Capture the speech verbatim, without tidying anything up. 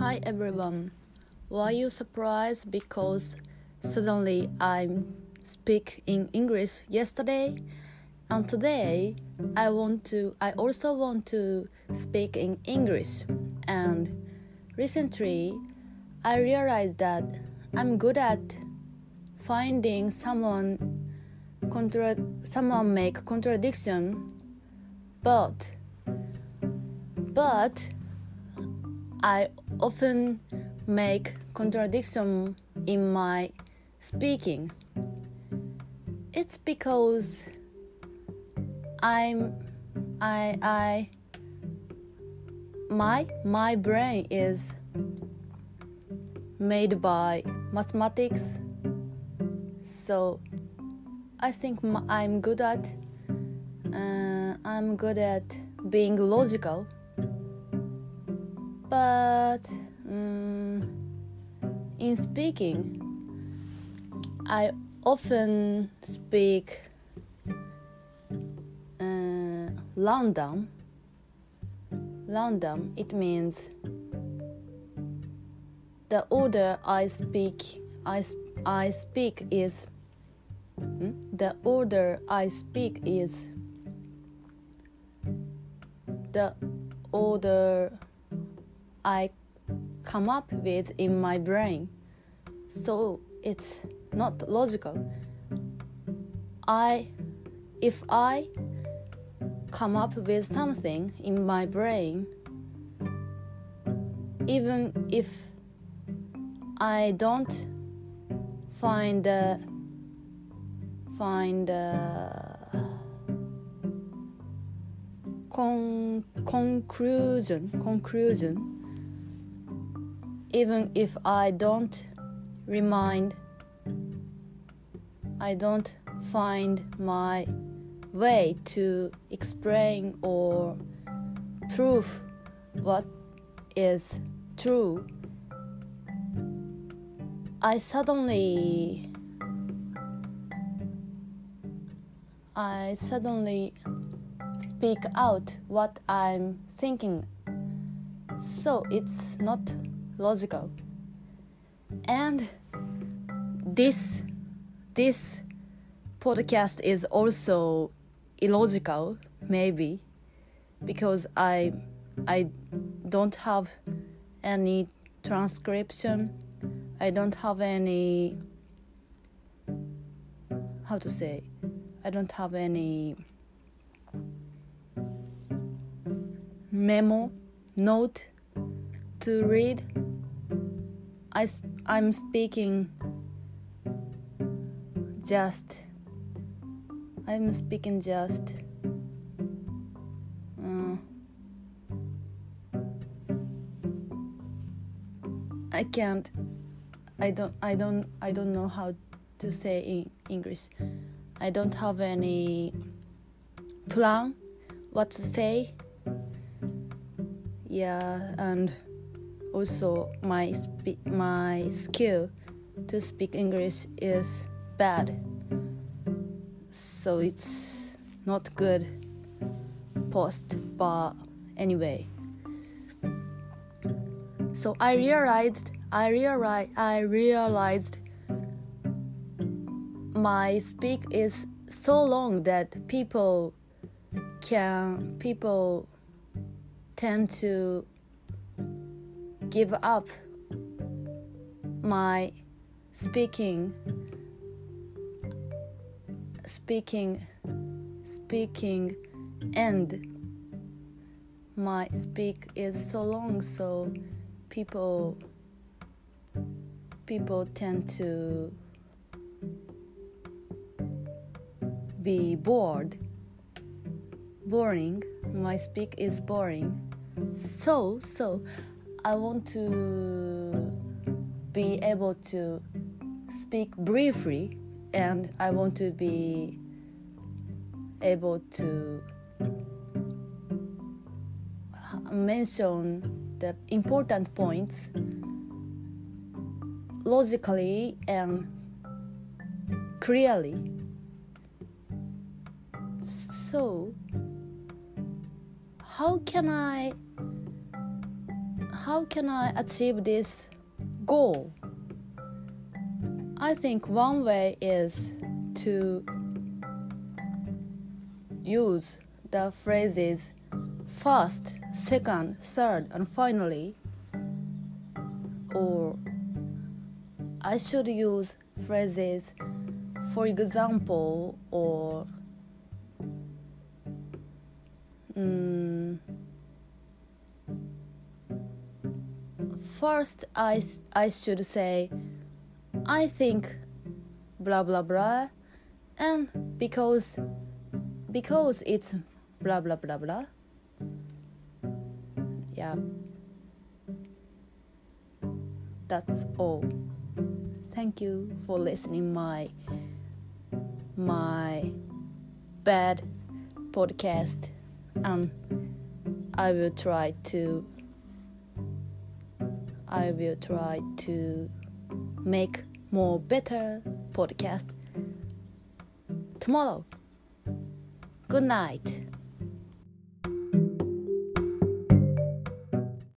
Hi everyone. Were you surprised because suddenly I speak in English yesterday? And today I want to I also want to speak in English. And recently I realized that I'm good at finding someone contra- someone make contradiction but but I often make contradiction in my speaking. It's because I'm I I my my brain is made by mathematics, so I think I'm good at uh, I'm good at being logical. But um, in speaking, I often speak uh, random. Random, it means the order I speak I, I speak is hmm? the order I speak is the order I come up with in my brain, so it's not logical. I, if I come up with something in my brain, even if I don't find the find the con- conclusion conclusion. Even if I don't remind, I don't find my way to explain or prove what is true, I suddenly I suddenly speak out what I'm thinking. So it's not logical. And this this podcast is also illogical, maybe, because I I don't have any transcription. I don't have any how to say I don't have any memo note to read. I, I'm speaking just I'm speaking just uh, I can't I don't I don't I don't know how to say in English. I don't have any plan what to say. Yeah, and also my spe- my skill to speak English is bad, so it's not good post. But anyway, so I realized I realized I realized my speak is so long that people can people tend to give up my speaking speaking speaking and my speak is so long, so people people tend to be bored boring my speak is boring, so so I want to be able to speak briefly, and I want to be able to mention the important points logically and clearly. So how can I how can I achieve this goal? I think one way is to use the phrases first, second, third, and finally. Or I should use phrases for example or um, first I I should say I think blah blah blah, and because because it's blah blah blah blah. Yeah, that's all. Thank you for listening my my bad podcast, and I will try to I will try to make more better podcast tomorrow. Good night.